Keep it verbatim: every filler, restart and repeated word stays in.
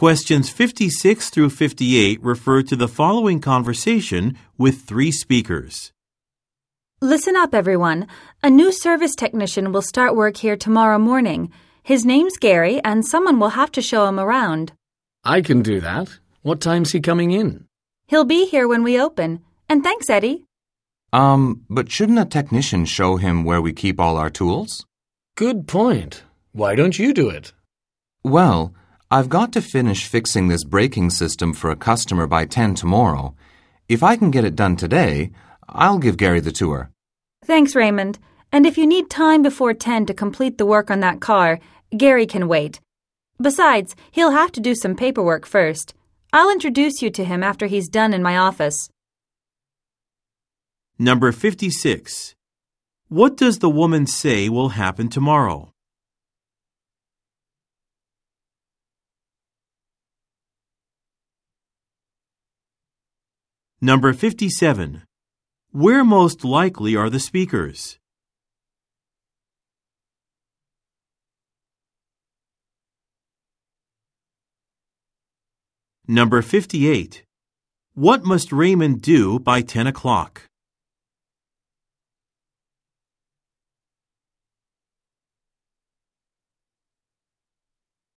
Questions fifty-six through fifty-eight refer to the following conversation with three speakers. Listen up, everyone. A new service technician will start work here tomorrow morning. His name's Gary, and someone will have to show him around. I can do that. What time's he coming in? He'll be here when we open. And thanks, Eddie. Um, but shouldn't a technician show him where we keep all our tools? Good point. Why don't you do it? Well, I've got to finish fixing this braking system for a customer by ten tomorrow. If I can get it done today, I'll give Gary the tour. Thanks, Raymond. And if you need time before ten to complete the work on that car, Gary can wait. Besides, he'll have to do some paperwork first. I'll introduce you to him after he's done in my office. Number fifty-six. What does the woman say will happen tomorrow? Number fifty-seven. Where most likely are the speakers? Number fifty-eight. What must Raymond do by ten o'clock?